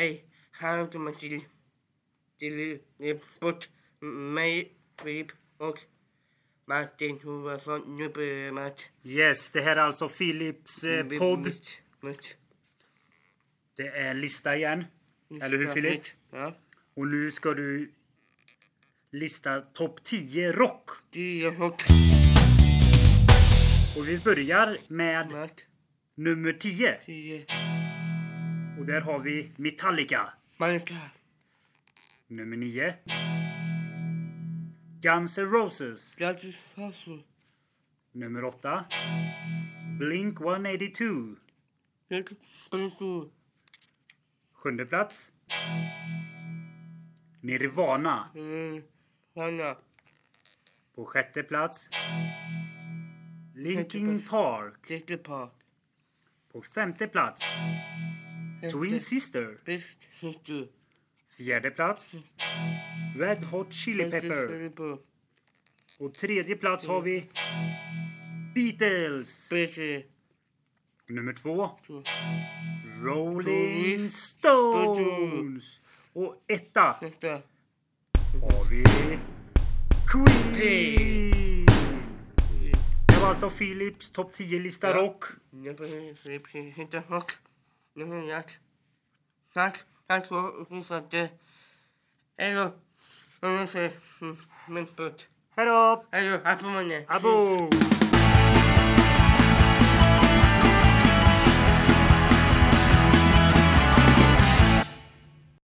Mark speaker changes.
Speaker 1: Hej, här kommer till bort mig, Filip och Martin Hovarsson. Nu börjar Mart.
Speaker 2: Yes, det här är alltså Philips podd.
Speaker 1: Mitt.
Speaker 2: Det är lista igen. Eller hur, Filip?
Speaker 1: Ja.
Speaker 2: Och nu ska du lista topp 10 rock.
Speaker 1: 10 rock.
Speaker 2: Och vi börjar med
Speaker 1: Mart.
Speaker 2: nummer 10.
Speaker 1: 10.
Speaker 2: Och där har vi Metallica.
Speaker 1: Malka.
Speaker 2: Nummer 9. Guns N' Roses.
Speaker 1: Grattis Hasso.
Speaker 2: Nummer 8. Blink 182.
Speaker 1: Sprutor.
Speaker 2: 7:e plats. Nirvana.
Speaker 1: Hanna.
Speaker 2: På 6:e plats. Linkin Park.
Speaker 1: 6 par.
Speaker 2: På 5:e plats. Twin Sister.
Speaker 1: Bäst syster.
Speaker 2: 4:e plats. Red Hot Chili Pepper. Och 3:e plats har vi Beatles.
Speaker 1: Bättre.
Speaker 2: Nummer 2. Rolling Stones. Och 1:a
Speaker 1: Nästa.
Speaker 2: har vi Queen. Det var alltså Philips topp 10 lista rock.
Speaker 1: Jag behöver inte rock. Nu har jag. Tack för att du. Hej då. Min putt.
Speaker 2: Hej då!
Speaker 1: Hej då. Abonne.
Speaker 2: Abo!